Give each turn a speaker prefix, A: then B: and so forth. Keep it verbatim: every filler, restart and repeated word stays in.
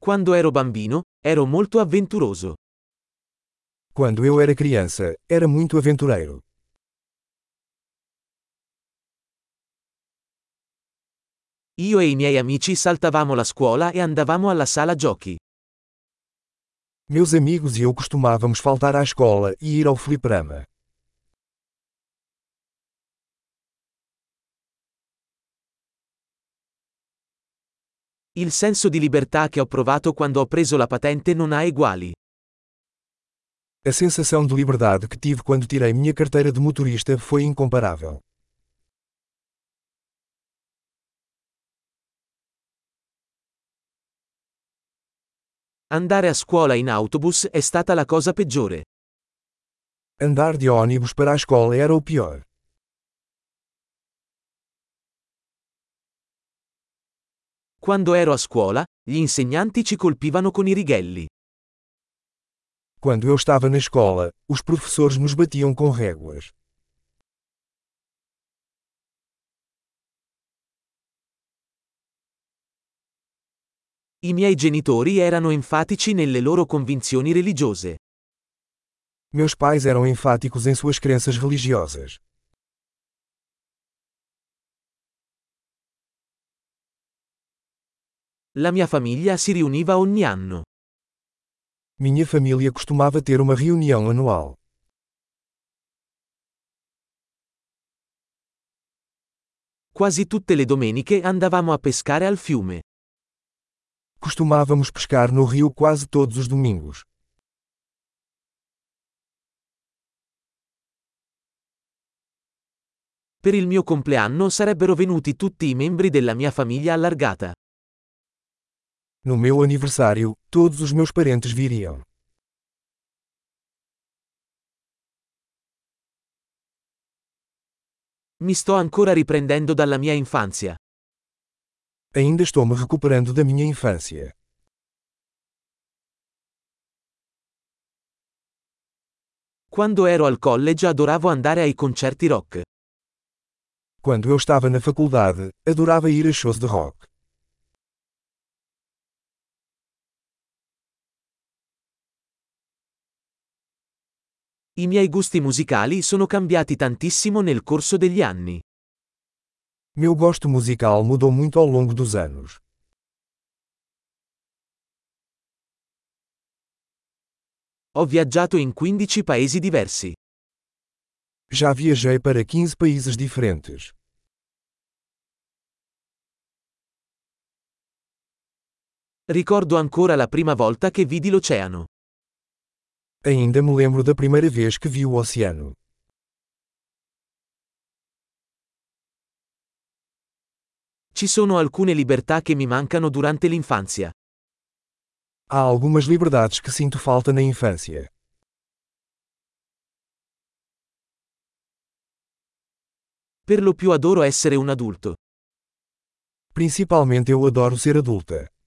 A: Quando ero bambino, ero molto avventuroso.
B: Quando eu era criança, era muito aventureiro.
A: Io e i miei amici saltavamo la scuola e andavamo alla sala giochi.
B: Meus amigos e eu costumávamos faltar à escola e ir ao fliperama.
A: Il senso di libertà che ho provato quando ho preso la patente non ha eguali.
B: A sensação de liberdade que tive quando tirei minha carteira de motorista foi incomparável.
A: Andare a scuola in autobus è stata la cosa peggiore.
B: Andar de ônibus para a escola era o pior.
A: Quando ero a scuola, gli insegnanti ci colpivano con i righelli.
B: Quando eu estava na escola, os professores nos batiam com réguas.
A: I miei genitori erano enfatici nelle loro convinzioni religiose.
B: Meus pais eram enfáticos em suas crenças religiosas.
A: La mia famiglia si riuniva ogni anno.
B: Minha família costumava ter uma reunião anual.
A: Quasi tutte le domeniche andavamo a pescare al fiume.
B: Costumávamos pescar no rio quase todos os domingos.
A: Per il mio compleanno sarebbero venuti tutti i membri della mia famiglia allargata.
B: No meu aniversário, todos os meus parentes viriam.
A: Mi sto ancora riprendendo dalla mia infanzia.
B: Ainda estou me recuperando da minha infância.
A: Quando ero al college adoravo andare ai concerti rock.
B: Quando eu estava na faculdade, adorava ir a shows de rock.
A: I miei gusti musicali sono cambiati tantissimo nel corso degli anni.
B: Meu gosto musical mudou muito ao longo dos anos.
A: Ho viaggiato in quindici paesi diversi.
B: Já viajei para quinze países diferentes.
A: Ricordo ancora la prima volta che vidi l'oceano.
B: Ainda me lembro da primeira vez que vi o oceano.
A: Ci sono alcune libertà che mi mancano durante l'infanzia.
B: Há algumas liberdades que sinto falta na infância.
A: Per lo più adoro essere un adulto.
B: Principalmente eu adoro ser adulta.